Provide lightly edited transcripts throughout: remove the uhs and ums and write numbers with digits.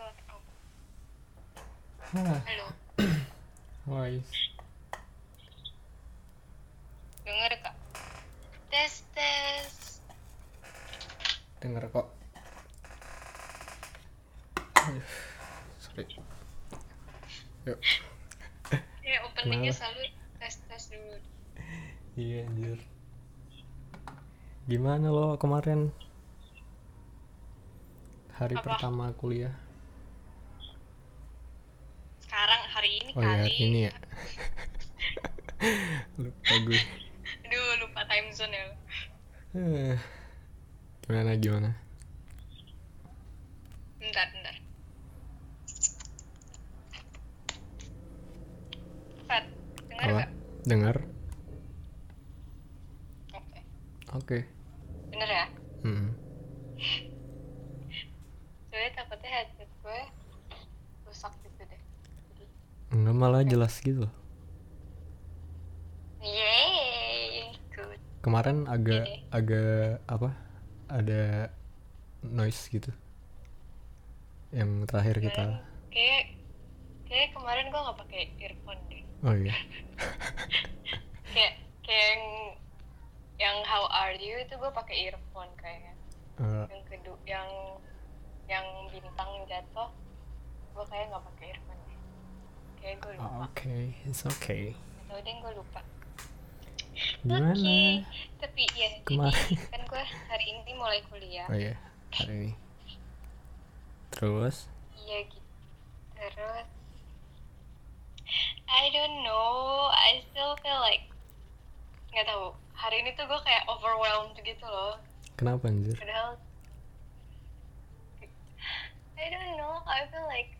Hah, Halo, woi, denger kak? Tes tes. denger kok. Sorry. Yuk, Openingnya kenapa? selalu tes tes dulu. Iya anjir. Gimana lo kemarin hari Apa? pertama kuliah? Sekarang hari ini Oh iya hari kali. ini ya. Lupa gue. Aduh, lupa time zone ya. Eh, gimana? Bentar, bentar. Fat, denger Apa? gak? Dengar? Oke. Oke. Bener ya? Hmm. Soalnya takutnya headset gue rusak gitu deh. Jadi, Enggak malah oke. jelas gitu loh. Yeay, good. Kemarin Oke agak deh. agak apa? Ada noise gitu. Yang terakhir kita. Kemarin kayak kayak kemarin gue nggak pakai earphone deh. Oh iya. Kayak kayak yang How Are You itu gue pakai earphone kayaknya. Eh, Yang kedua yang bintang jatuh gue kayak nggak pakai earphone deh, kayak gue lupa. Oke, it's okay. Atau deh gue lupa. Oke, Gimana tapi ya jadi kemarin? kan gue hari ini mulai kuliah. Oh iya, hari ini. Terus? Iya gitu. Terus I don't know, I still feel like nggak tahu, hari ini tuh gue kayak overwhelmed gitu loh. Kenapa anjir? Padahal I don't know, I feel like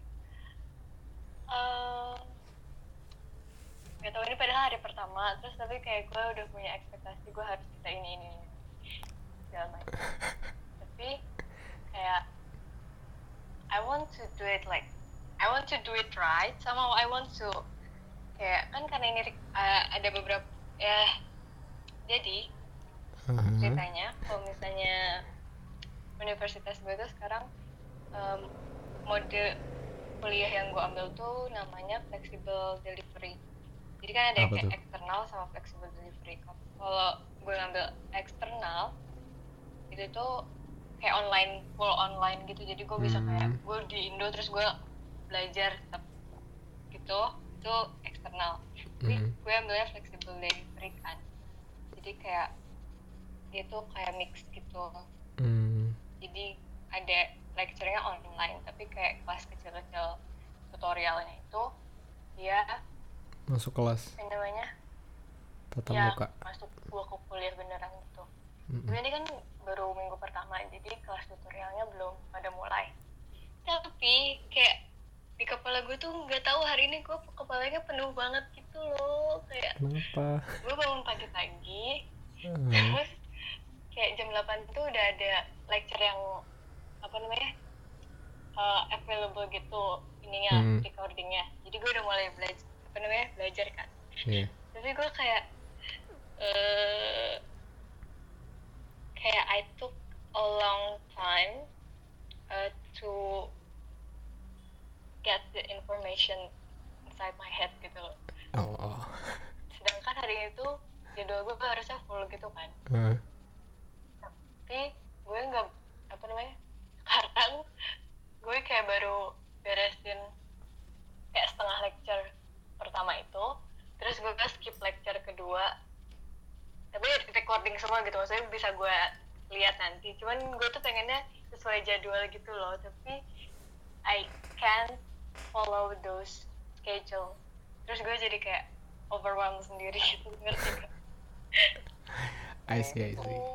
uh, nggak tahu, ini padahal hari pertama terus tapi kayak gue udah punya ekspektasi gue harus bisa ini segala macam. Tapi kayak I want to do it like I want to do it right, somehow I want to kayak kan karena ini ada beberapa ya, jadi ceritanya kalau misalnya universitas gue tuh sekarang mode kuliah yang gue ambil tuh namanya flexible delivery. Jadi kan ada Apa kayak tuh? eksternal sama flexible delivery. Kalau gue ngambil eksternal itu tuh kayak online, full online gitu. Jadi gue bisa kayak gue di Indo terus gue belajar tetap gitu. Itu eksternal. Tapi gue ambilnya flexible delivery kan. Jadi kayak dia tuh kayak mix gitu. Jadi ada lecture-nya online tapi kayak kelas kecil-kecil tutorialnya itu dia Masuk kelas apa namanya tatap ya muka. masuk gua ke kuliah beneran gitu. Tapi ini kan baru minggu pertama jadi kelas tutorialnya belum pada mulai. Tapi kayak di kepala gue tuh nggak tahu hari ini gue kepalanya penuh banget gitu loh, kayak Kenapa? gue bangun pagi-pagi terus kayak jam 8 tuh udah ada lecture yang apa namanya available gitu ininya recordingnya. Jadi gue udah mulai belajar kan. Iya. Tapi gue kayak kayak I took a long time to get the information inside my head gitu loh. Oh. Sedangkan hari itu jadwal gue harusnya full gitu kan. Tapi gue nggak apa namanya sekarang gue kayak baru beresin kayak setengah lecture pertama itu, terus gue skip lecture kedua tapi recording semua gitu, maksudnya bisa gue lihat nanti. Cuman gue tuh pengennya sesuai jadwal gitu loh, tapi I can't follow those schedule. Terus gue jadi kayak overwhelmed sendiri gitu, ngerti gak? I see.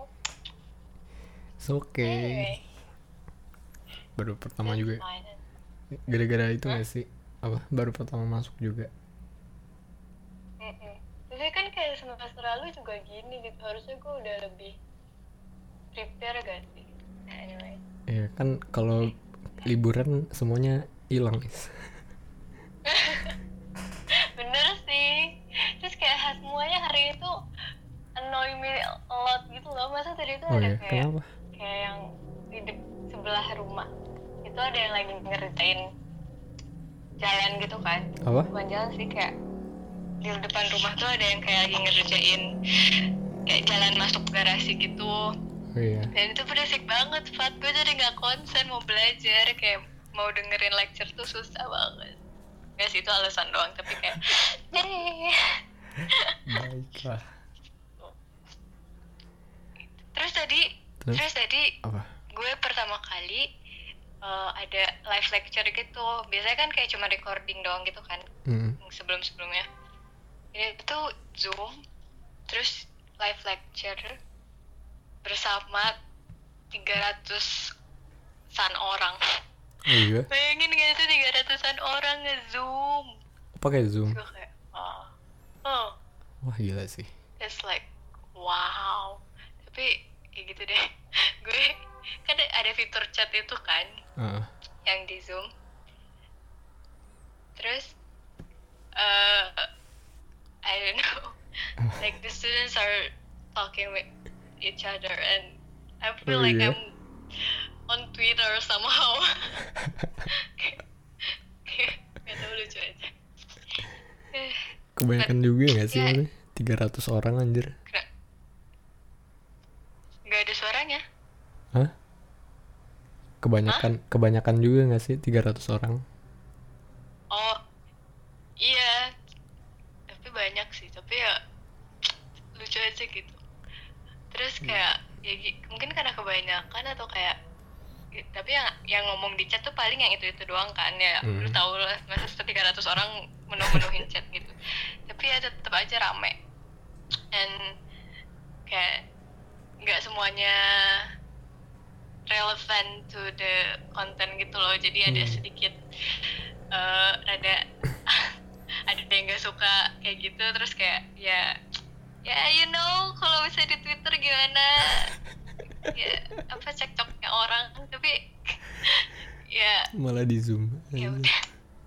It's okay. Anyway, Baru pertama that's juga. fine. Gara-gara itu gak sih? Apa? Baru pertama masuk juga. Tapi kan kayak semester lalu juga gini gitu, harusnya gue udah lebih prepare gak sih? Anyway. Ya kan kalau liburan semuanya hilang guys. Bener sih. Terus kayak semuanya hari itu annoy me a lot gitu loh. Masa tadi itu ada Iya, kayak kenapa? yang di sebelah rumah itu itu ada yang lagi ngerjain jalan gitu kan. Apa? Bukan jalan sih, kayak di depan rumah tuh ada yang kayak lagi ngerjain kayak jalan masuk garasi gitu. Oh iya. Dan itu berisik banget, Fat. Gue jadi gak konsen mau belajar, kayak mau dengerin lecture tuh susah banget. Gak sih, itu alasan doang, tapi kayak Baiklah. Terus tadi Apa? gue pertama kali ada live lecture gitu. Biasanya kan kayak cuma recording doang gitu kan, sebelum-sebelumnya. Ini tuh Zoom, terus live lecture bersama 300-an orang. Oh iya. Bayangin gak sih 300-an orang nge-Zoom? Pakai Zoom. Gue kayak, Wah gila sih. it's like, wow. Tapi kayak gitu deh. Gue kan ada fitur chat itu kan, yang di Zoom. Terus I don't know, like the students are talking with each other and I feel like iya? I'm on Twitter somehow. Gak tau, lucu aja. Kebanyakan juga gak sih? Ya. 300 orang anjir. Gak ada suaranya. Hah? Kebanyakan juga gak sih 300 orang? Oh iya, tapi banyak sih, tapi ya lucu aja gitu. Terus kayak mungkin karena kebanyakan atau kayak, tapi yang ngomong di chat tuh paling yang itu doang kan ya. Lu tau lah, masa 300 orang menuhin chat gitu. Tapi ya tetap aja rame. And kayak nggak semuanya relevant to the content gitu loh. Jadi ada sedikit ada yang nggak suka kayak gitu. Terus kayak ya you know, kalau misalnya di Twitter gimana ya apa cekcoknya orang, tapi ya Malah di Zoom. ya udah.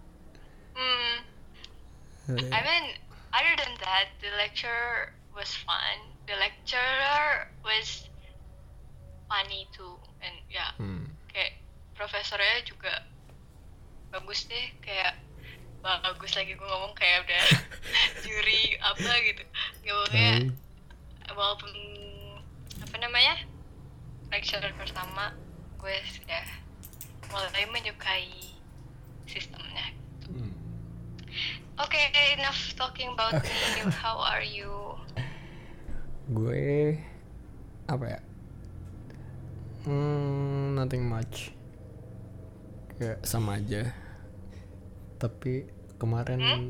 I mean, other than that, the lecture was fun. The lecturer was funny too, and ya kayak profesornya juga bagus deh, kayak bagus lagi gue ngomong kayak udah juri apa gitu. Ngomongnya walaupun apa namanya lecturer pertama, gue sudah mulai menyukai sistemnya. Okay, enough talking about me. How are you? Gue apa ya? Nothing much. Kayak sama aja. Tapi kemarin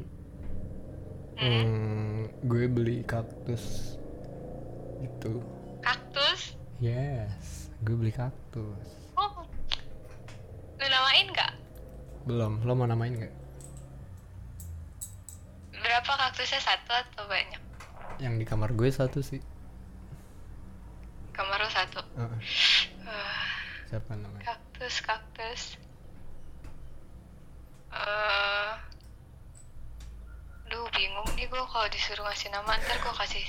gue beli kaktus gitu. Kaktus? Yes, gue beli kaktus. Oh, lu namain nggak? Belum, lo mau namain nggak? Berapa kaktusnya, satu atau banyak? Yang di kamar gue satu sih. Kamar lu satu. Siapa namanya? Kaktus. Duh, bingung nih gue kalau disuruh ngasih nama. Ntar gue kasih.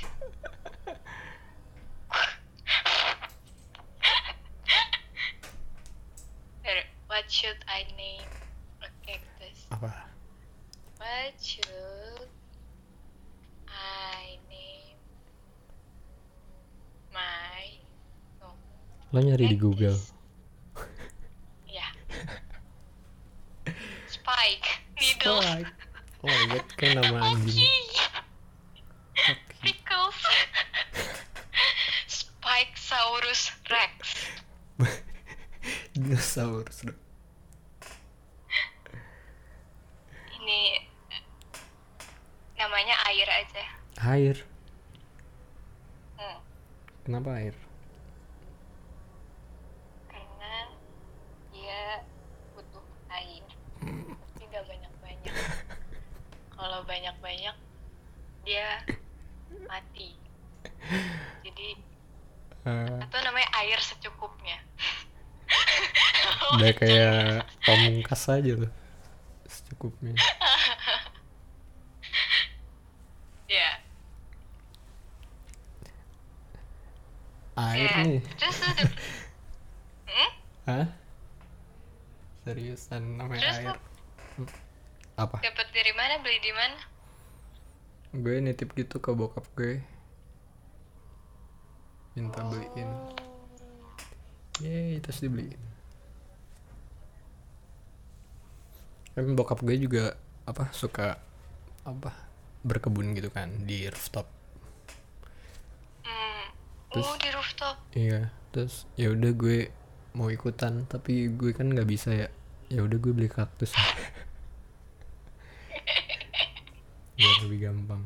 What should I name a cactus? Apa? What should I name my Lo nyari di Google. Ya. Spike Needle. Spike. Oh my god, kayak nama anjing. Pickles. Spikesaurus Rex. Dinosaurus dong. Ini namanya air aja. Air. Kenapa air? Karena dia butuh air. Tidak banyak-banyak. Kalau banyak-banyak dia mati. Jadi atau namanya air secukupnya. Udah kayak pamungkas aja loh. Secukupnya. Ya. Air nih. Terus udah. Hah? Seriusan namanya Terus air. lu Apa? dapat dari mana, beli di mana? Gue nitip gitu ke bokap gue, minta beliin. Oh. Yeay, terus dibeliin. Kan bokap gue juga apa suka apa berkebun gitu kan di rooftop. Terus Di rooftop. iya, terus ya udah gue mau ikutan tapi gue kan nggak bisa ya. Ya udah gue beli kaktus biar lebih gampang.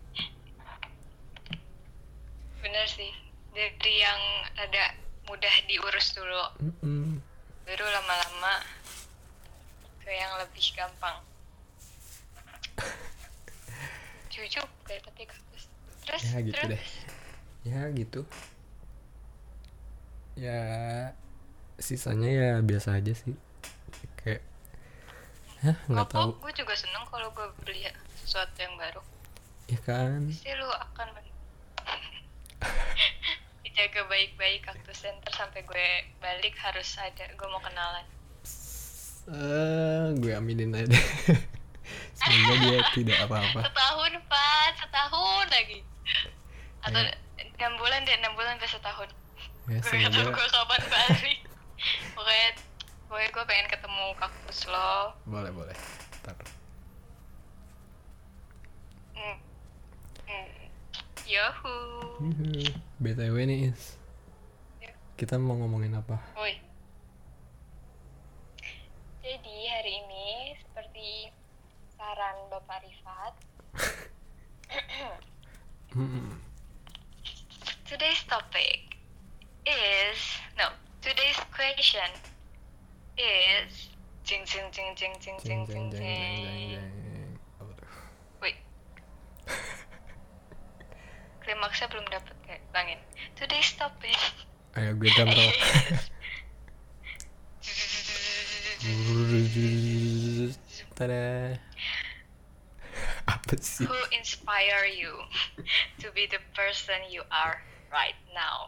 Bener sih, dari yang ada mudah diurus dulu, baru lama-lama ke yang lebih gampang. Cucuk deh tapi kaktus. Terus Ya gitu terus deh. Ya gitu. Ya sisanya ya biasa aja sih. Kayak nggak tahu. gue juga seneng kalau gue beli sesuatu yang baru. Ya kan. Pasti lu akan dijaga baik-baik kaktusnya, ntar sampai gue balik harus ada, gue mau kenalan. Gue aminin aja deh. Semoga dia tidak apa-apa. setahun lagi. Atau 6 bulan deh, 6 bulan sampai setahun. Ya, Gue gak tau semoga gue kapan balik. Pokoknya gue pengen ketemu kaktus lo. boleh. Ntar. Yahoo. BTW nih Is, kita mau ngomongin apa? Woi. Jadi hari ini seperti saran Bapak Rifat, today's topic is today's question is jing jing jing jing jing jing jing jing. Wait. Klimaksnya belum dapet kayak bangin. Today's topic. Ayo gue drum roll. Tada. Apa sih? Who inspire you to be the person you are right now?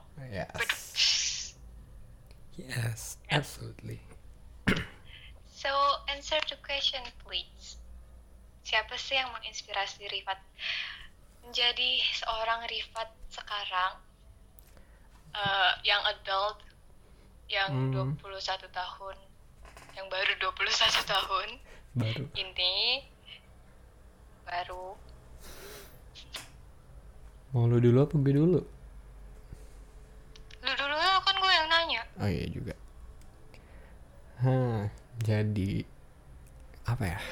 Yes, absolutely. So answer the question please. Siapa sih yang menginspirasi Rifat menjadi seorang Rifat sekarang, yang adult, yang 21 tahun, yang baru 21 tahun, Baru. ini baru. Mau lu dulu apa gue dulu? Lu dulu lah, kan gue yang nanya. Oh iya juga. Jadi apa ya?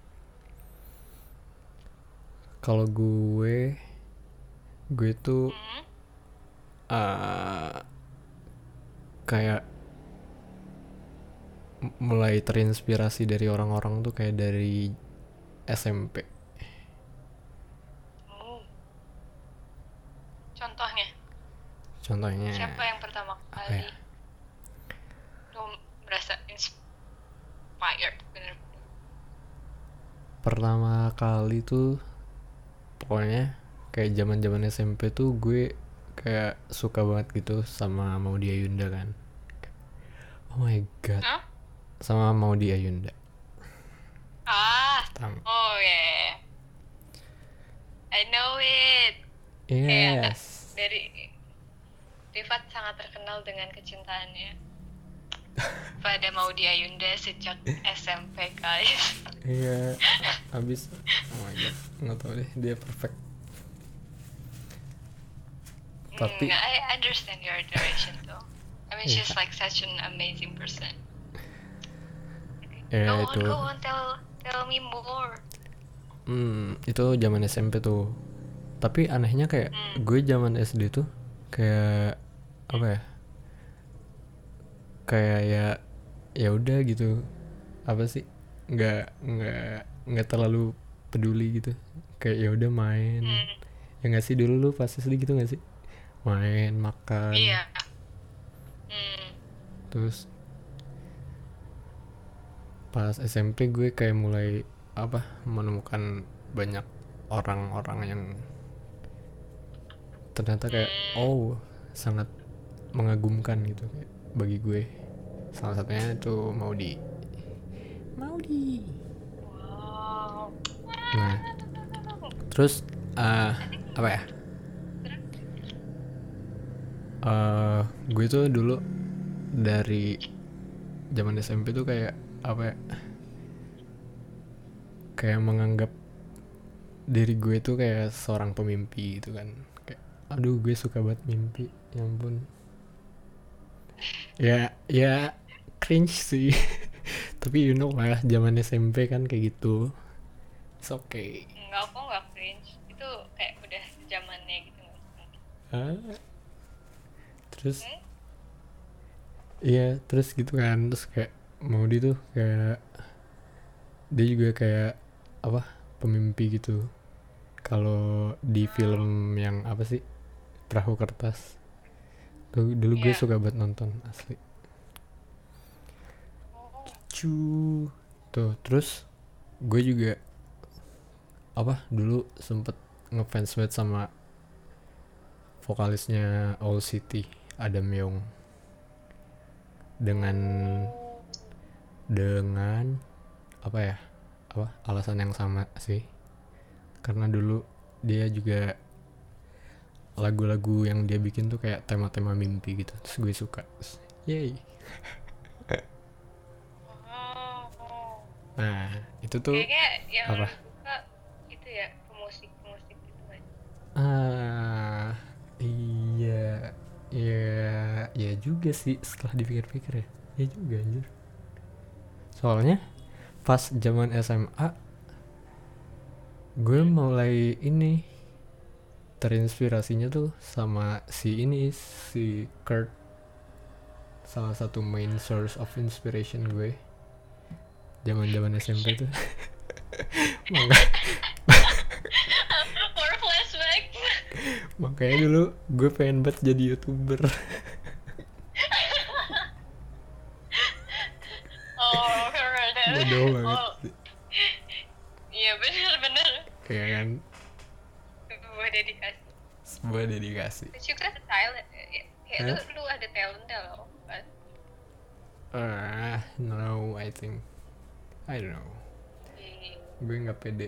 Kalau gue tuh kayak mulai terinspirasi dari orang-orang tuh kayak dari SMP. Contohnya Siapa yang pertama kali lu merasa inspired bener? Pertama kali tuh pokoknya kayak zaman SMP tuh gue kayak suka banget gitu sama Maudy Ayunda kan. Oh my god. Sama Maudy Ayunda. Oh yeah, I know it. Yes. Kayak dari Rifat sangat terkenal dengan kecintaannya pada Maudy Ayunda sejak SMP guys. Iya. Abis oh my god, nggak tahu deh, dia perfect. Tapi I understand your direction though. I mean she's like such an amazing person. Ya Go on, tell me more. Itu zaman SMP tuh. Tapi anehnya kayak gue zaman SD tuh kayak apa ya? Kayak ya udah gitu. Apa sih? Nggak terlalu peduli gitu. Kayak ya udah main. Ya nggak sih, dulu lu pas SD gitu nggak sih? Main, makan. Iya. Terus pas SMP gue kayak mulai menemukan banyak orang-orang yang ternyata kayak sangat mengagumkan gitu kayak bagi gue. Salah satunya itu Maudy. Maudi. Wow. Nah, terus apa ya? Gue tuh dulu dari zaman SMP tuh kayak apa ya? Kayak menganggap diri gue tuh kayak seorang pemimpi gitu kan. Kayak aduh gue suka banget mimpi. Ya ampun. Ya cringe sih. Tapi you know lah zaman SMP kan kayak gitu. It's okay. Enggak, kok nggak cringe. Itu kayak udah zamannya gitu. Ah, terus iya terus gitu kan terus kayak Maudi tuh kayak dia juga kayak apa pemimpi gitu kalau di film yang apa sih Perahu Kertas tuh dulu gue Iya. suka banget nonton asli cu tuh terus gue juga apa dulu sempet ngefans banget sama vokalisnya Owl City Adam Young dengan apa ya apa alasan yang sama sih karena dulu dia juga lagu-lagu yang dia bikin tuh kayak tema-tema mimpi gitu terus gue suka yay. Nah itu tuh Kayaknya yang apa lu suka itu ya pemusik gitu kan. Iya ya juga sih setelah dipikir-pikir ya juga anjir soalnya pas zaman SMA gue mulai ini terinspirasinya tuh sama si Kurt salah satu main source of inspiration gue zaman SMP tuh For flashback. makanya dulu gue pengen banget jadi YouTuber. Oh, keren. Bodoh banget Oh, sih. iya benar-benar. Kayak kan Sebuah dedikasi. sebuah dedikasi. Terus juga talent. Kayak lu ada talentnya loh kan. No I think I don't know gue nggak pede.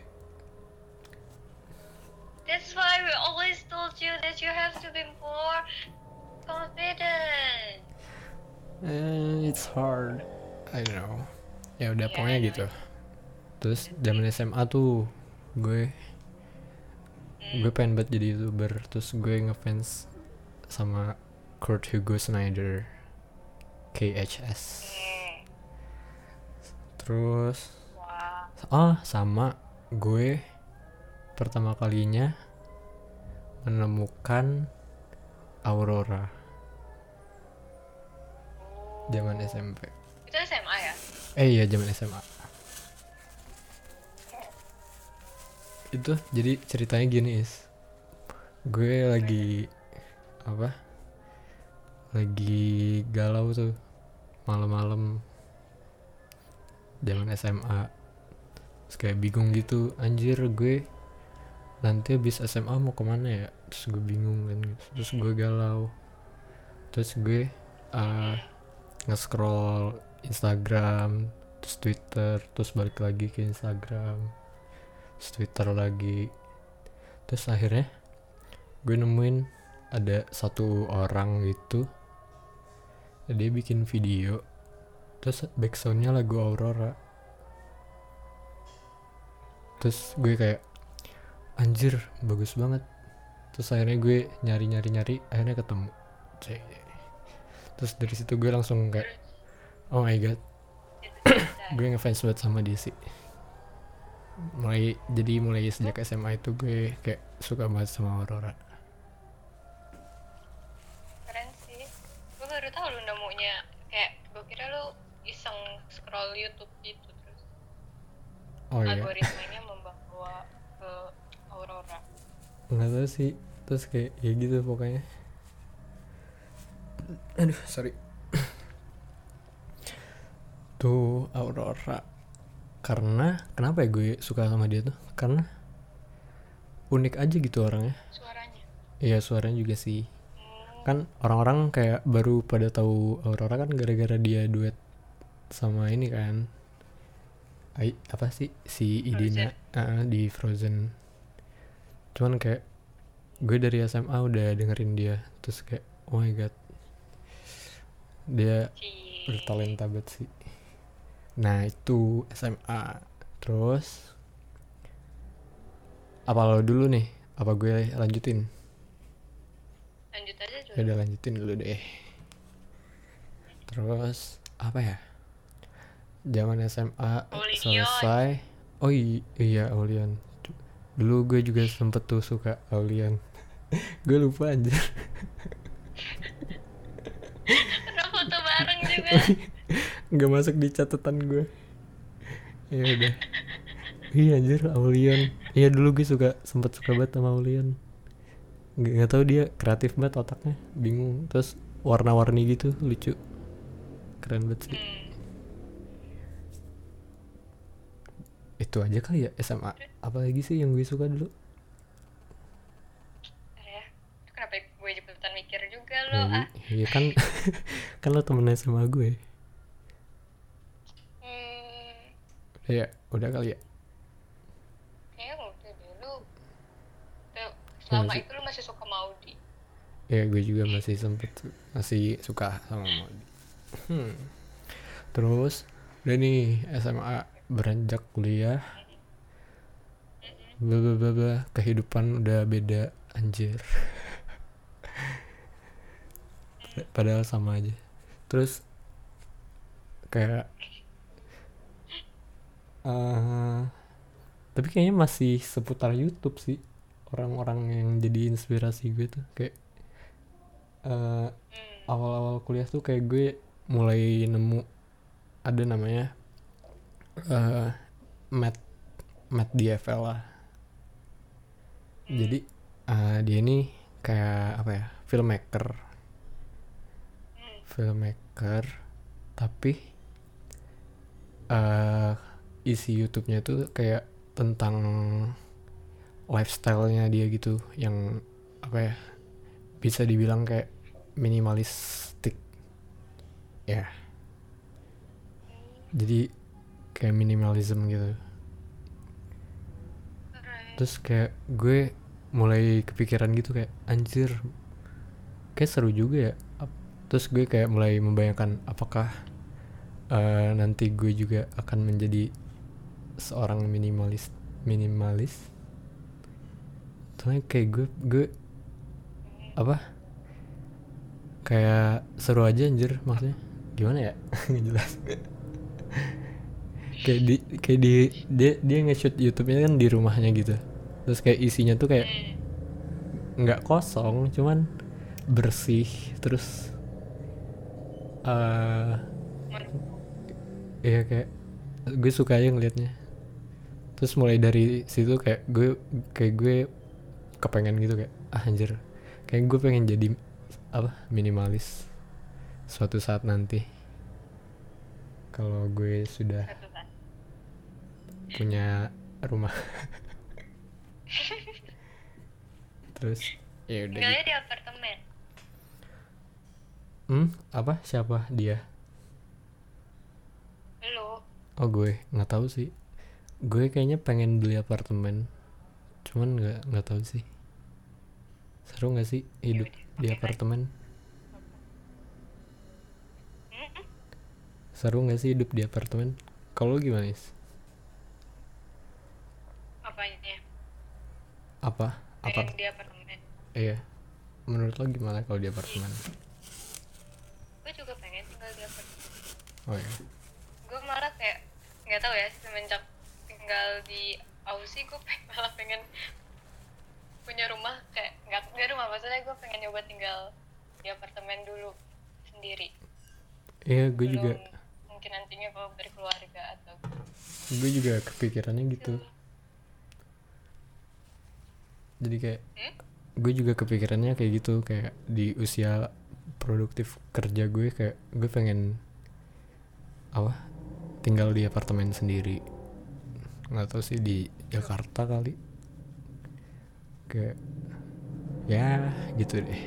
That's why we always told you that you have to be more confident. It's hard I don't know ya udah Yeah, pokoknya I know. gitu terus zaman SMA tuh gue pengen banget jadi YouTuber terus gue ngefans sama Kurt Hugo Snyder KHS terus Wow. sama gue pertama kalinya menemukan Aurora zaman SMP Itu SMA ya? iya zaman SMA itu jadi ceritanya gini gue lagi apa lagi galau tuh malam-malam zaman SMA terus kayak bingung gitu anjir gue nanti habis SMA mau kemana ya terus gue bingung kan terus gue galau terus gue nge-scroll Instagram terus Twitter terus balik lagi ke Instagram terus Twitter lagi terus akhirnya gue nemuin ada satu orang gitu dia bikin video terus backsoundnya lagu Aurora terus gue kayak anjir bagus banget terus akhirnya gue nyari akhirnya ketemu terus dari situ gue langsung kayak oh my god gue ngefans banget sama dia sih mulai sejak SMA itu gue kayak suka banget sama Aurora. Keren sih. Gue baru tahu lu nemunya. Kayak gue kira lu iseng scroll YouTube gitu terus Oh iya algoritmanya membawa ke Aurora. nggak tahu sih terus kayak ya gitu pokoknya aduh sorry tuh Aurora karena kenapa ya gue suka sama dia tuh karena unik aja gitu orangnya Suaranya. iya suaranya juga sih kan orang-orang kayak baru pada tahu Aurora kan gara-gara dia duet sama ini kan apa sih si Idina di Frozen. Cuman kayak gue dari SMA udah dengerin dia, terus kayak oh my god, dia bertalenta banget sih. Nah itu SMA. Terus apa lo dulu nih, apa gue lanjutin? Lanjut aja dulu. Udah lanjutin dulu deh. Terus apa ya, zaman SMA selesai. Oh iya Aulian, dulu gue juga sempet tuh suka Aulian. Gue lupa anjir. Ada foto bareng juga. Nggak masuk di catatan gue. Ya udah. Iya anjir Aulian. Iya dulu gue sempet suka banget sama Aulian. Nggak tahu dia kreatif banget otaknya, bingung. Terus warna-warni gitu lucu, keren banget sih. Itu aja kali ya SMA. Apalagi sih yang gue suka dulu? Kenapa gue cepetan mikir juga lo? Iya kan. Kan lo temennya sama gue. Ya udah kali ya. Kayaknya waktu dulu selama itu lo masih suka Maudi. Ya gue juga masih suka sama Maudi. Terus udah nih SMA, beranjak kuliah, kehidupan udah beda anjir. Padahal sama aja. Terus kayak tapi kayaknya masih seputar YouTube sih orang-orang yang jadi inspirasi gue tuh. Kayak awal-awal kuliah tuh kayak gue mulai nemu ada namanya Matt DFL lah. Jadi dia ini kayak apa ya, filmmaker tapi isi YouTube-nya tuh kayak tentang lifestyle-nya dia gitu, yang apa ya, bisa dibilang kayak minimalistik ya. Jadi kayak minimalism gitu. Terus kayak gue mulai kepikiran gitu, kayak anjir kayak seru juga ya. Terus gue kayak mulai membayangkan apakah nanti gue juga akan menjadi seorang minimalis. Soalnya kayak gue apa, kayak seru aja anjir, maksudnya gimana ya. Nggak jelas. kayak dia nge-shoot YouTube-nya kan di rumahnya gitu. Terus kayak isinya tuh kayak nggak kosong, cuman bersih. Terus ya kayak gue suka aja ngelihatnya. Terus mulai dari situ kayak gue kepengen gitu, kayak anjir kayak gue pengen jadi apa, minimalis suatu saat nanti kalau gue sudah punya rumah. Terus ya udah tinggalnya di apartemen. Apa, siapa dia? Lu? Oh gue nggak tahu sih. Gue kayaknya pengen beli apartemen, cuman nggak tahu sih. Seru nggak sih hidup di apartemen? Seru nggak sih hidup di apartemen? Kalau gimana sih? Apanya? Apa? Di apartemen. Iya. Menurut lo gimana kalau di apartemen? Gue juga pengen tinggal di apartemen. Oh iya. Gue malah kayak nggak tahu ya, semenjak tinggal di Aussie gue malah pengen punya rumah. Kayak nggak rumah, maksudnya gue pengen nyoba tinggal di apartemen dulu sendiri. Iya, gue juga. Mungkin nantinya kalau berkeluarga atau. Gue juga kepikirannya gitu. Jadi kayak gue juga kepikirannya kayak gitu, kayak di usia produktif kerja gue, kayak gue pengen apa, tinggal di apartemen sendiri. Nggak tahu sih di Jakarta kali, kayak ya gitu deh.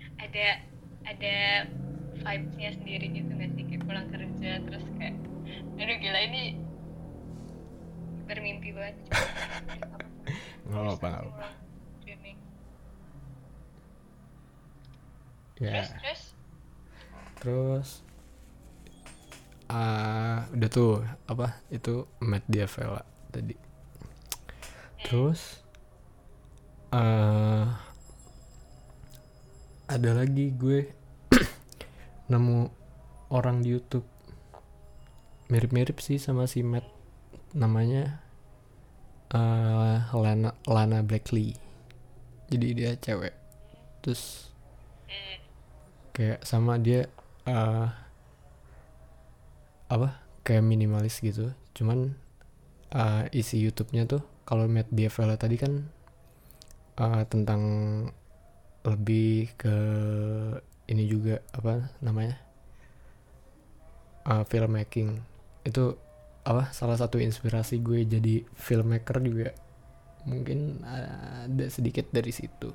Ada vibes-nya sendiri gitu nggak sih, kayak pulang kerja terus kayak gila ini bermimpi banget. nggak apa-apa. Dreaming. Ya Terus udah tuh apa itu Matt Diavela tadi. Terus ada lagi gue nemu orang di YouTube mirip-mirip sih sama si Matt, namanya Lana Blakely. Jadi dia cewek, terus kayak sama dia apa kayak minimalis gitu, cuman isi YouTube-nya tuh kalau Matt Diavela tadi kan tentang lebih ke ini juga apa namanya filmmaking. Itu apa salah satu inspirasi gue jadi filmmaker juga mungkin ada sedikit dari situ.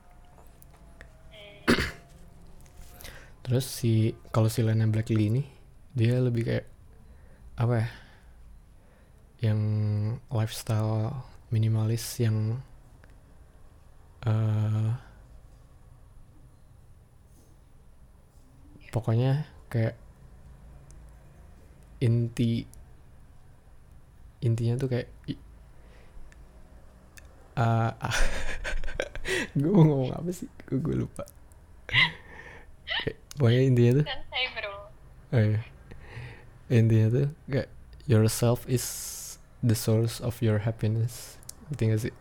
Terus kalau si Lana Blakely ini dia lebih kayak apa ya, yang lifestyle minimalis yang pokoknya kayak intinya tuh kayak gue mau ngomong apa sih, gue lupa. Pokoknya intinya tuh santai bro. Intinya tuh kayak yourself is the source of your happiness. Ngerti gak sih?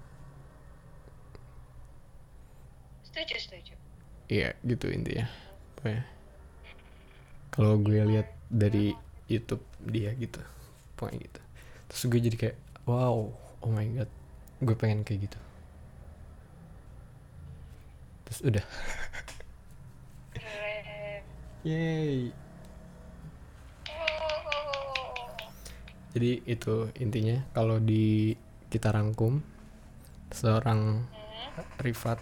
Setuju. Iya gitu intinya. Pokoknya kalau gue lihat dari YouTube dia gitu, pokoknya gitu. Terus gue jadi kayak wow, oh my god, gue pengen kayak gitu. Terus udah. Yay. Jadi itu intinya kalau kita rangkum, seorang Rifat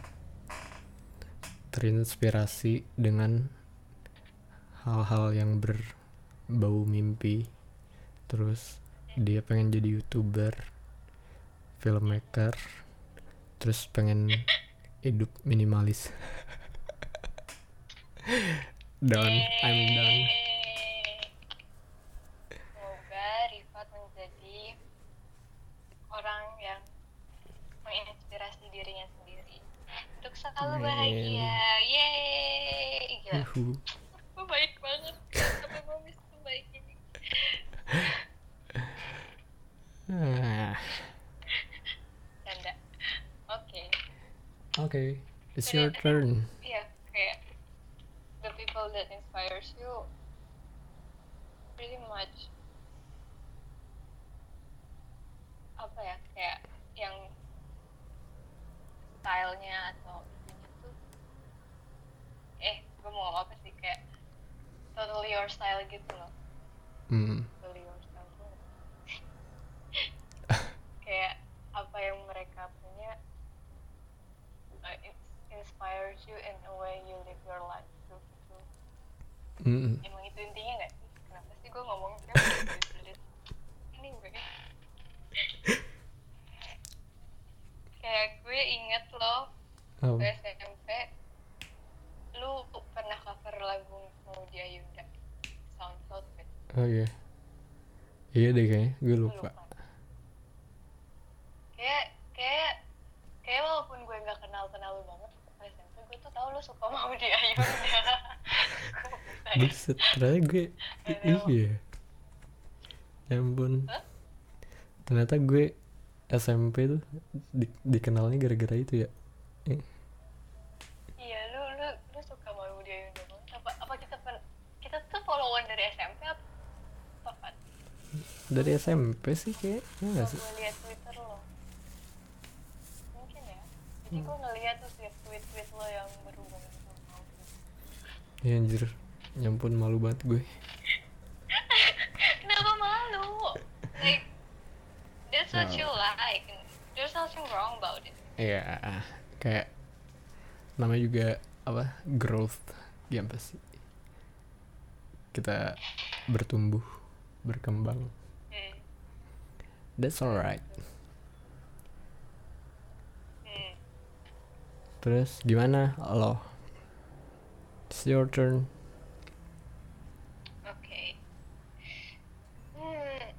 terinspirasi dengan hal-hal yang berbau mimpi. Terus dia pengen jadi YouTuber, filmmaker, terus pengen hidup minimalis. I'm done. Semoga Rifat menjadi orang yang menginspirasi dirinya sendiri untuk selalu bahagia. Yeay, gila. Gue baik banget. Sampai gue bisa baik ini. Canda. Oke, it's your turn. Iya, kayak the people that inspires you pretty much apa ya, kayak yang stylenya atau itunya tuh gue mau ngomong apa sih, kayak totally your style gitu loh. Totally your style tuh kayak apa yang mereka punya, it inspires you in a way you live your life too gitu. Emang itu intinya gak sih? Kenapa sih gue ngomong sulit ini gue kayak gue inget loh ke SMP lu pernah cover lagu Maudy Ayunda SoundCloud kan? Oh iya deh kayaknya gue lupa. Kayak walaupun gue nggak kenal lu banget ke SMP, gue tuh tahu lu suka Maudy Ayunda. Buset, ternyata gue iya ya ampun. Ternyata gue SMP tuh dikenalnya gara-gara itu ya. Iya, lu suka Maudy Ayunda banget. Apa kita tuh followan dari SMP apa? Dari SMP sih kayaknya nggak sih? Gue lihat Twitter lo, mungkin ya. Jadi gue ngeliat tuh setiap tweet lo yang berhubungan sama Maudy. Ya anjir, nyampun malu banget gue. Kenapa malu? Like, that's what you like. There's nothing wrong about it. Iya, kayak namanya juga apa, growth, ya apa sih, kita bertumbuh, berkembang. That's alright. Hmm. Terus gimana lo? It's your turn. Oke. Hmm.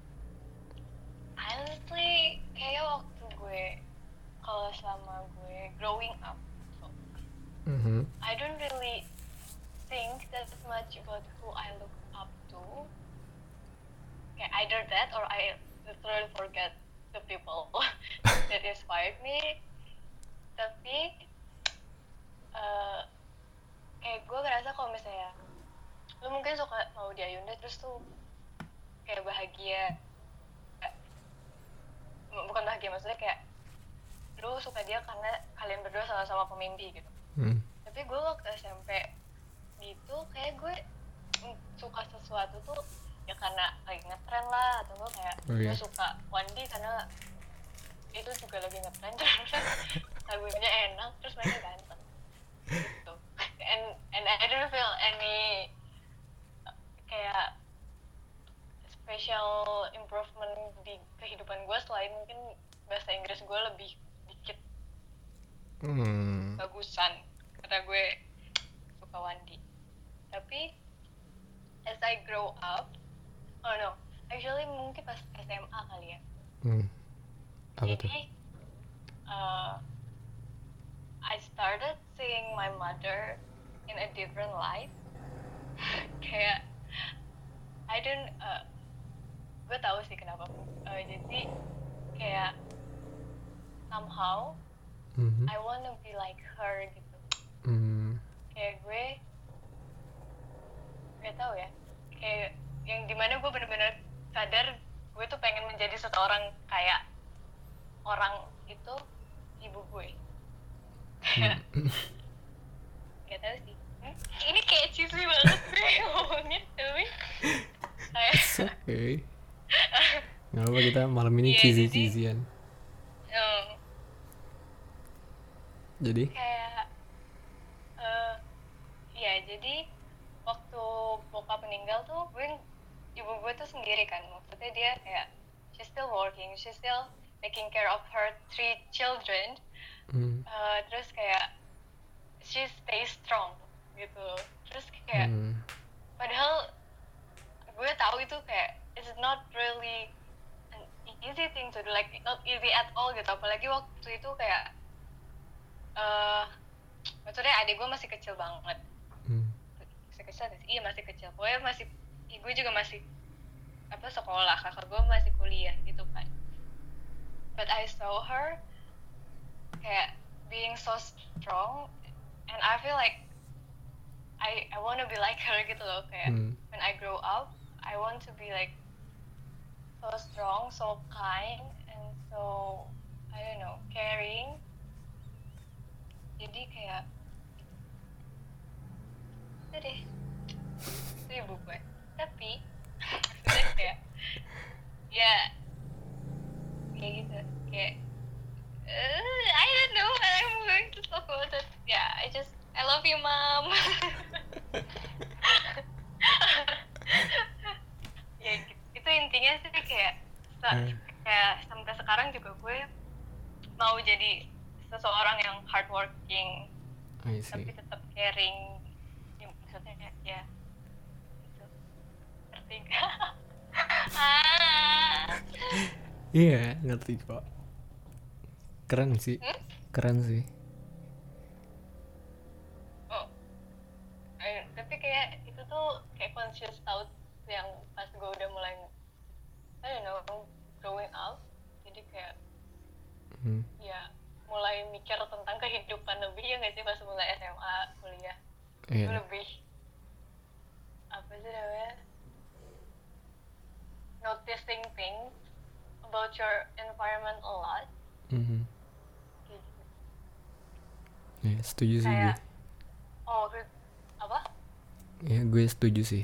Honestly, kayak waktu gue kalau selama gue growing up, Mhm. I don't really think that much about who I look up to. Okay, either that or I literally forget the people that inspired me. Tapi kayak gue ngerasa kalau misalnya lu mungkin suka mau di Ayunda terus tuh kayak bahagia, bukan bahagia maksudnya kayak lu suka dia karena kalian berdua sama-sama pemimpi gitu. Tapi gue waktu SMP gitu kayak gue suka sesuatu tuh ya karena lagi ngetren lah, atau gue kayak gue suka Wandi karena itu juga lagi ngetren terus lagunya enak terus mainnya ganteng gitu. And I don't feel any kayak special improvement di kehidupan gue selain mungkin bahasa Inggris gue lebih dikit bagusan karena gue suka Wandi. Tapi as I grow up, oh no, actually mungkin pas SMA kali ya. Apa tuh? Jadi I started seeing my mother in a different light. Kayak I don't gue tahu sih kenapa. Jadi kayak somehow I wanna be like her gitu. Kayak gue gak tahu ya, kayak yang dimana gue bener-bener sadar gue tuh pengen menjadi seseorang kayak orang itu ibu gue. Gak tahu sih, ini kayak cheesy banget gue ngomongnya, tapi It's okay. Gak apa, kita malam ini cheesy-cheesyan. Jadi? Kayak ya jadi waktu bokap meninggal tuh ibu gue tuh sendiri kan, maksudnya dia kayak she's still working, she's still taking care of her 3 children. Terus kayak she stays strong gitu. Terus kayak padahal gue tahu itu kayak it's not really an easy thing to do, like not easy at all gitu, apalagi waktu itu kayak maksudnya adik gue masih kecil banget. Masih kecil sih, iya masih kecil, pokoknya masih, gue juga masih sekolah, kakak gue masih kuliah gitu kan. But I saw her kayak being so strong, and I feel like I want to be like her gitu loh, kayak when I grow up I want to be like so strong, so kind, and so I don't know, caring. Jadi kayak itu deh, itu ibu gue. Tapi maksudnya kayak ya kayak gitu, kayak I don't know what I'm going to talk about that. Yeah, I love you mom. Ya gitu. Itu intinya sih kayak sampai sekarang juga gue mau jadi seseorang yang hardworking tapi tetap caring ya, maksudnya ya gitu. Ngerti gak? Iya, ngerti kok. Keren sih. Keren sih. Tapi kayak itu tuh kayak conscious thought yang pas gue udah mulai I don't know growing up, jadi kayak ya mulai mikir tentang kehidupan lebih, ya nggak sih, pas mulai SMA kuliah gue lebih apa sih namanya, noticing things about your environment a lot. Gitu. Ya, setuju sih kayak, gue. Apa? Ya, gue setuju sih.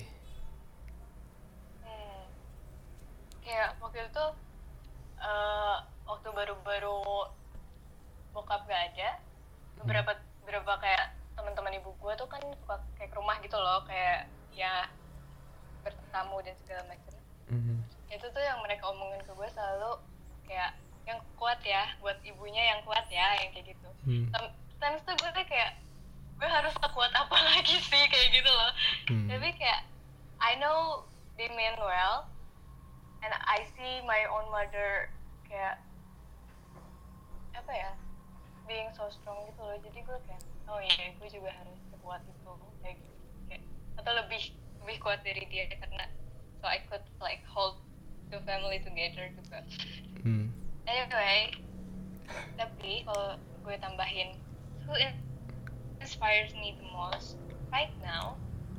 Kayak waktu itu waktu baru-baru bokap gak ada, beberapa kayak teman-teman ibu gue tuh kan suka kayak ke rumah gitu loh, kayak ya bertamu dan segala macam. itu tuh yang mereka omongin ke gue selalu kayak yang kuat ya, buat ibunya yang kuat ya, yang kayak gitu. Sometimes tuh gue kayak gue harus kuat apa lagi sih kayak gitu loh. Tapi kayak I know they mean well and I see my own mother kayak apa ya, being so strong gitu loh. Jadi gue kayak oh iya gue juga harus sekuat itu kayak gitu, kayak atau lebih kuat dari dia karena so I could like hold the family together juga. Anyway, tapi kalau gue tambahin who inspires me the most right now,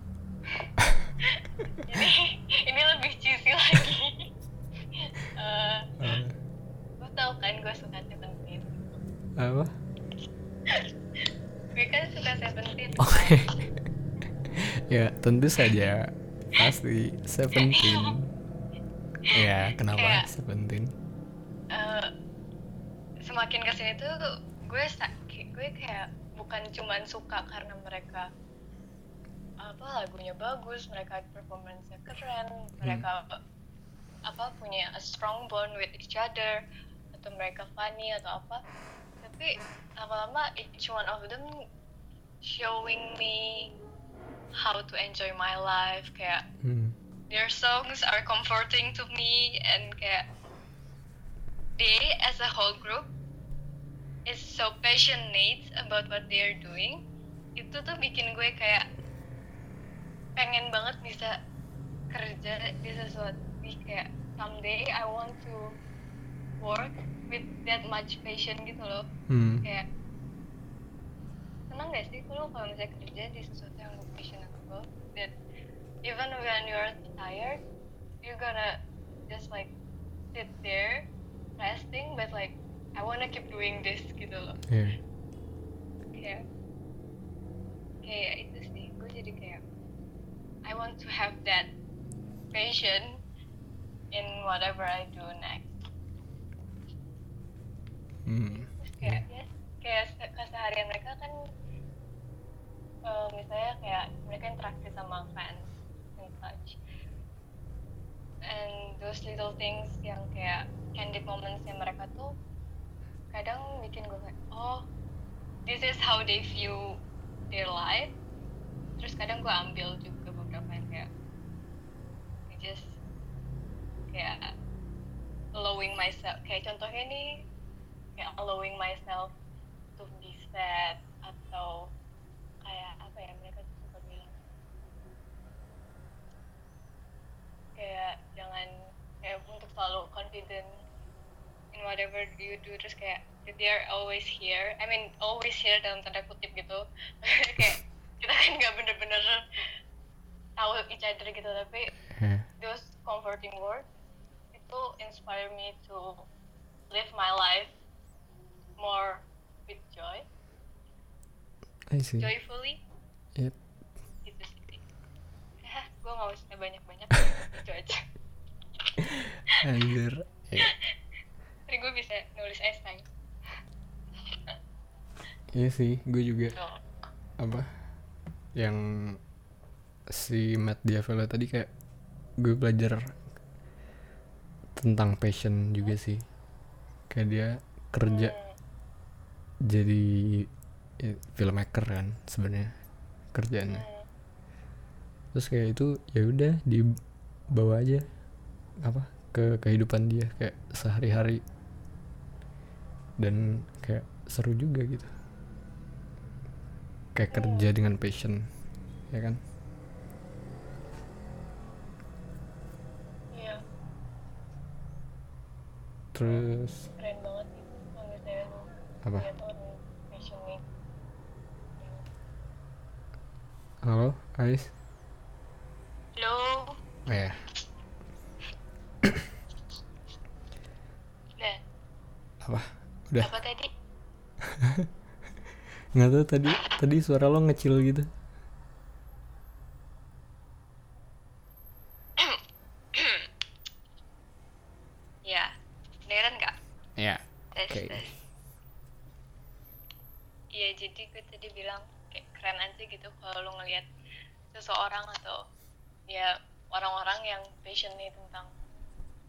ini lebih cheesy lagi. Lo tau kan gue suka Seventeen. Apa? Gue kan suka Seventeen. Ya tentu saja pasti Seventeen. Ya kenapa kayak, Seventeen? Semakin kesini tuh gue kayak bukan cuman suka karena mereka apa lagunya bagus, mereka performance-nya keren, mereka apa punya a strong bond with each other, atau mereka funny atau apa, tapi lama-lama each one of them showing me how to enjoy my life, kayak their songs are comforting to me, and kayak they as a whole group is so passionate about what they are doing. Itu tuh bikin gue kayak pengen banget bisa kerja di sesuatu, kayak someday I want to work with that much passion gitu loh. Kayak senang gak sih kalau misalnya kerja di sesuatu yang lo passionate about, that even when you're tired you're gonna just like sit there resting, but like I wanna keep doing this gitu loh. Kayak itu sih, gue jadi kayak I want to have that passion in whatever I do next. Kayak keseharian mereka kan misalnya kayak mereka interaksi sama fans and such, and those little things yang kayak candid moments yang mereka tuh kadang bikin gue kayak oh this is how they view their life. Terus kadang gue ambil juga beberapa yang kayak just kayak allowing myself, kayak contohnya nih kayak allowing myself to be sad, atau kayak apa ya mereka suka bilang kayak jangan kayak untuk selalu confident in whatever you do, terus kayak they are always here, I mean always here dalam tanda kutip gitu. Kayak kita kan nggak bener-bener tahu each other gitu, tapi those comforting words itu inspire me to live my life more with joy. I see. Joyfully. Yep. Gitu sih. Gue nggak usah banyak-banyak. Itu aja. Anjir. Tapi gue bisa nulis essay. Iya sih, gue juga apa yang si Matt Diavela tadi kayak gue belajar tentang passion juga sih. Kayak dia kerja jadi filmmaker kan sebenarnya kerjaannya. Terus kayak itu ya udah dibawa aja apa ke kehidupan dia kayak sehari-hari, dan kayak seru juga gitu, kayak kerja dengan passion, ya kan? Iya. Terus keren banget gitu kalau misalnya lu apa? lihat orang passionate. Halo, Ais? Halo. Ya. Apa? Udah. Apa tadi? Nggak tahu, tadi suara lo ngecil gitu. Ya, beneran nggak? Ya. Oke. Iya, jadi gue tadi bilang kayak keren aja gitu kalau lo ngelihat seseorang atau ya orang-orang yang passionate tentang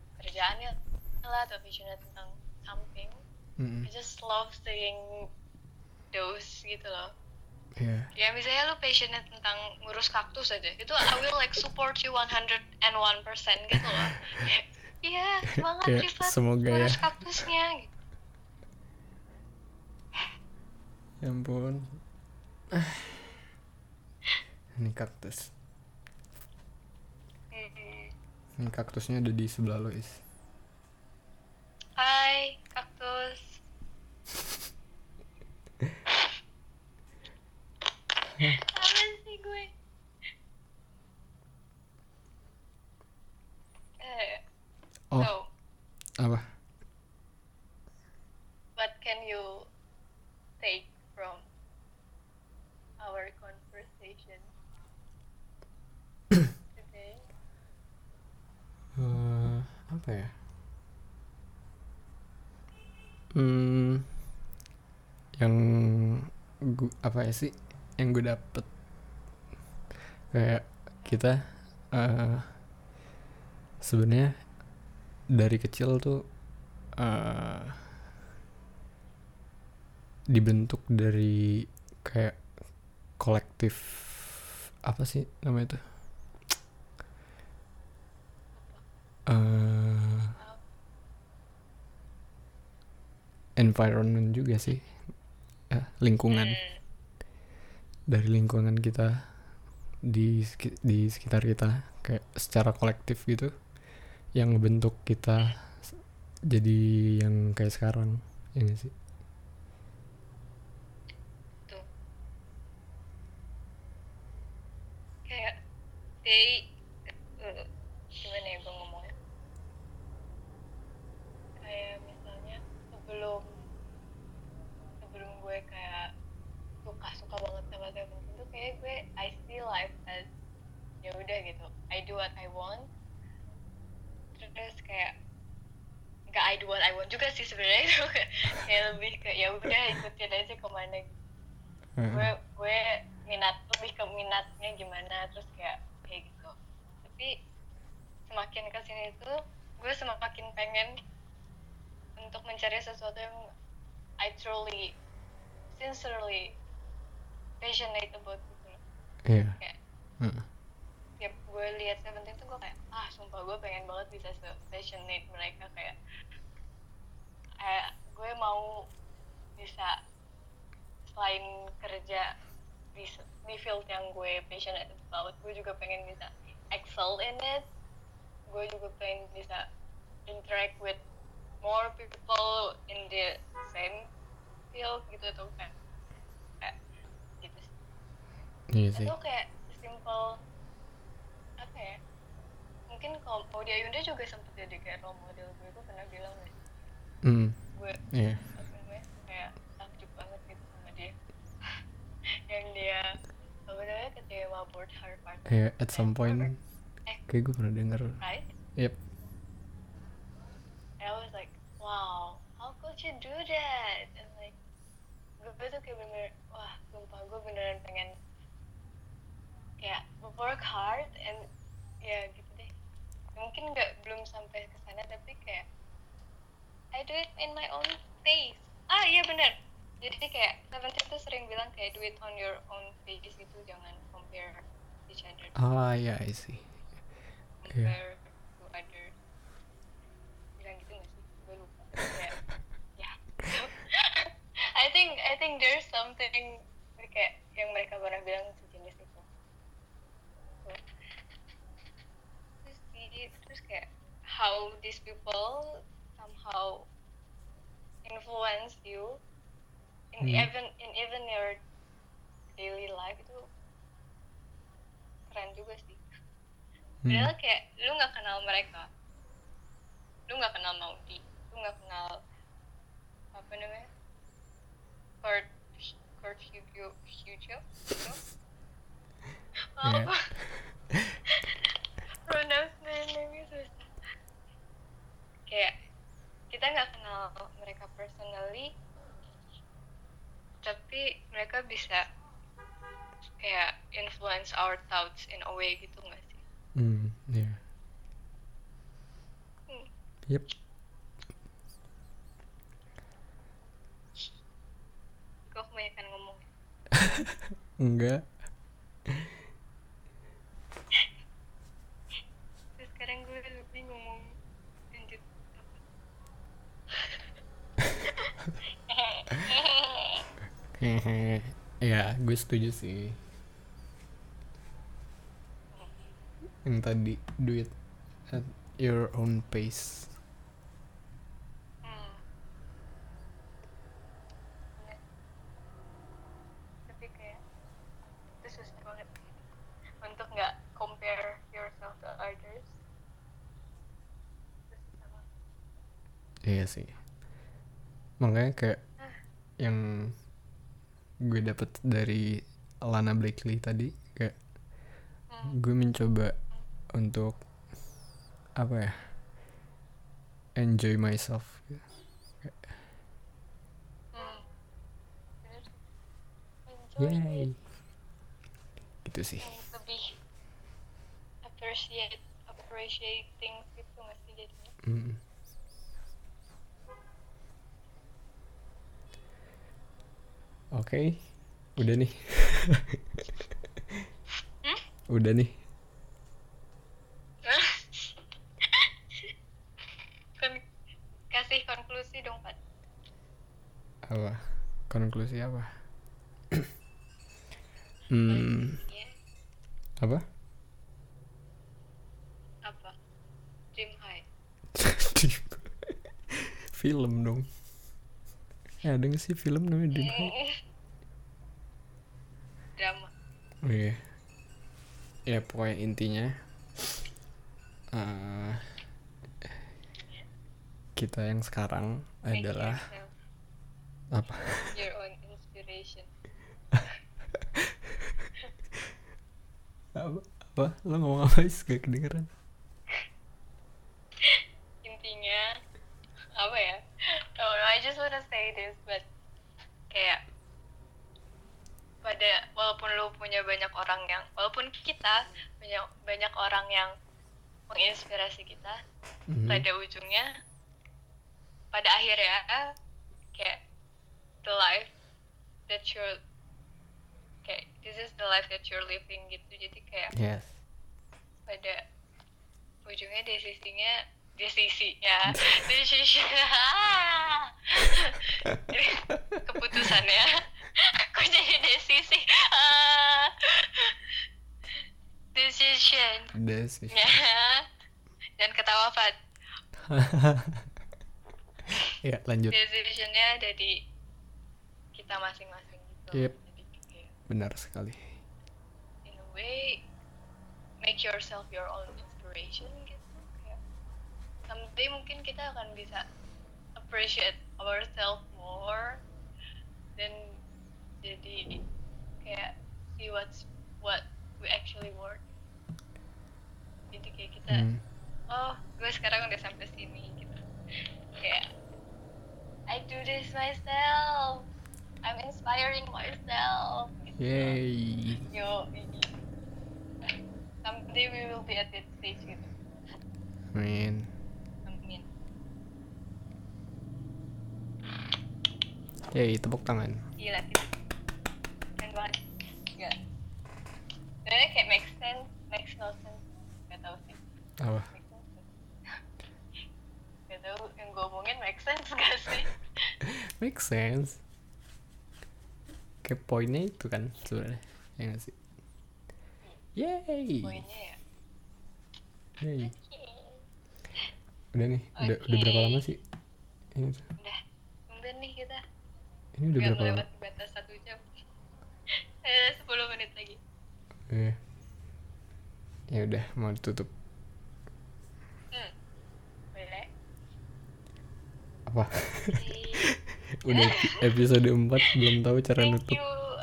atau passionate tentang something, I just love saying those gitu loh. Ya misalnya lu passionate tentang ngurus kaktus aja, itu I will like support you 101% gitu loh. Iya, semangat Rifat, semoga ngurus ya. kaktusnya gitu. Ya ampun. Ini kaktus. Ini kaktusnya ada di sebelah lo, Is. Hai, kaktus. Apa sih gue? So, Apa? what can you take from our conversation today? Apa ya? Yang apa ya sih? Yang gue dapet kayak kita sebenarnya dari kecil tuh dibentuk dari kayak kolektif, apa sih namanya itu? Environment juga sih, lingkungan. Dari lingkungan kita di sekitar kita, kayak secara kolektif gitu, yang ngebentuk kita jadi yang kayak sekarang, ya gak sih? Tuh. Kayak gimana ya gue ngomongnya? Kayak misalnya sebelum gue kayak suka banget sama Seventeen tuh kayak gue I see life as ya udah gitu, I do what I want. Terus kayak nggak I do what I want juga sih sebenarnya, itu kayak lebih ke ya udah ikutin aja kemana gitu. gue lebih ke minatnya gimana, terus kayak gitu. Tapi semakin kesini tuh gue semakin pengen untuk mencari sesuatu yang I truly sincerely passionate about gitu. Kayak tiap gue lihat Seventeen tuh gue kayak sumpah gue pengen banget bisa passionate mereka, kayak gue mau bisa selain kerja di field yang gue passionate about, gue juga pengen bisa excel in it. Gue juga pengen bisa interact with more people in the same field gitu, tuh kayak gitu sih. Iya sih. Itu kayak simple apa ya, mungkin kalau Audia Yunda juga sempet jadi kayak role model gue pernah bilang nih. Gue kayak takjub banget gitu sama dia. Yang dia sebenarnya ketika board Harvard. At some point kayak gue pernah denger. Right? Yep. And I was like, wow, how could you do that? And like, gue tuh kayak bener, wah, sumpah gue beneran pengen kayak work hard and ya gitu deh. Mungkin belum sampai ke sana, tapi kayak I do it in my own pace. Iya bener. Jadi kayak Seventeen tuh sering bilang kayak do it on your own pace gitu, jangan compare each other. Yeah, I see. Compare to others. Bilang gitu nggak sih? Gue lupa. Kayak, ya. I think there's something kayak yang mereka pernah bilang sejenis itu. Terus kayak how these people somehow influence you in even your daily life, itu keren juga sih. Padahal kayak lu nggak kenal mereka, lu nggak kenal Maudi, lu nggak kenal apa namanya Kurt Hugo gitu. Apa? Pronounce name-nya susah. Kayak kita nggak kenal mereka personally, tapi mereka bisa kayak influence our thoughts in a way gitu nggak sih? Yeah. Yep. Enggak. Terus sekarang gue bingung lanjut Hehe. Ya, gue setuju sih. Yang tadi, do it at your own pace. Tapi kayak itu susah banget untuk nggak compare yourself to others. Itu susah banget. Iya sih. Makanya kayak yang gue dapet dari Lana Blakely tadi, kayak gue mencoba untuk apa ya, enjoy myself gitu. Bener. Enjoy Yay it. gitu sih. Lebih appreciate things gitu nggak sih jadinya. Oke, udah nih. Udah nih. Kasih konklusi dong, Pat. Apa? Konklusi apa? Iya. Apa? Apa? Dream high. Film dong. Ya ada gak sih film namanya Dream High? Drama. Oh iya. Ya pokoknya intinya kita yang sekarang Make adalah yourself apa? your own inspiration. Apa? Lo ngomong apa sih? Gak kedengeran. Intinya apa ya? Oh, no, I just wanna say this, but kayak walaupun lu punya banyak orang yang, walaupun kita punya banyak orang yang menginspirasi kita, pada ujungnya, pada akhirnya kayak the life that you're kayak this is the life that you're living gitu. Jadi kayak Yes. pada ujungnya desisinya keputusannya aku jadi desisi decision dan ketawa Fat. Ya lanjut. Decisionnya ada di kita masing-masing gitu. Yep. Jadi kayak, benar sekali. in a way make yourself your own inspiration gitu. Kayak someday mungkin kita akan bisa appreciate ourselves more dan jadi kayak see what we actually worth. Jadi kayak kita oh gue sekarang udah sampai sini gitu, kayak I do this myself, I'm inspiring myself gitu. Yay. Yo, someday we will be at that stage gitu. Amin. Amin. Yay, tepuk tangan. Gila gitu. Keren banget. Gak. Sebenarnya kayak makes no sense. Gak tau sih. Apa? Gak tau yang gue omongin make sense gak sih? Make sense. Kayak poinnya itu kan sebenarnya, ya nggak sih? Yay. Poinnya ya. Yay. Okay. Udah nih, udah berapa lama sih? Ini tuh. Udah nih kita. Ini udah berapa lama? Gak batas 1 jam. 10 menit lagi. Ya udah, mau ditutup. Boleh. Apa? Udah episode 4 belum tahu cara Thank nutup. you.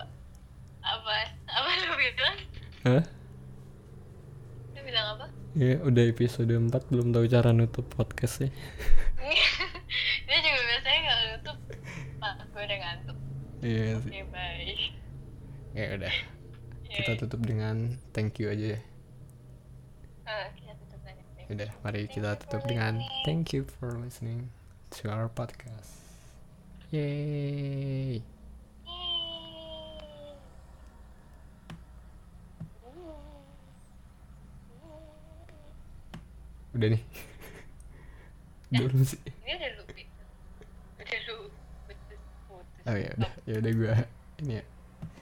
Apa lu bilang? Hah? Lu bilang apa? Ya udah episode 4 belum tahu cara nutup podcastnya. Dia juga biasanya gak nutup. Pak, gue udah ngantuk. Iya sih. Oke, bye. Ya udah. Kita tutup dengan thank you aja ya. Kita tutup aja. Udah, mari kita tutup dengan thank you for listening to our podcast. Yay. Udah nih. Belum sih. Ini udah lu putus. Oh ya udah gue ini ya.